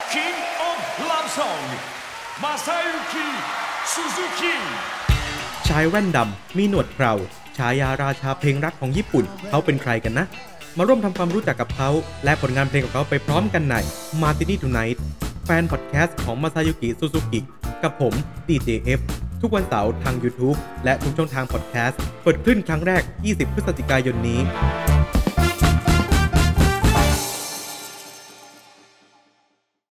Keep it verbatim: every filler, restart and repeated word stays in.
King of Love Song มาซายุกิซูซูกิชายแว่นดำมีหนวดเคราฉายาราชาเพลงรักของญี่ปุ่นเขาเป็นใครกันนะมาร่วมทำความรู้จักกับเขาและผลงานเพลงของเขาไปพร้อมกันใน Martini Tonight แฟนพอดแคสต์ของมาซายุกิซูซูกิกับผม ดี เจ เอฟ ทุกวันเสาร์ทาง YouTube และทุกช่องทางพอดแคสต์เปิดขึ้นครั้งแรกยี่สิบพฤศจิกายนนี้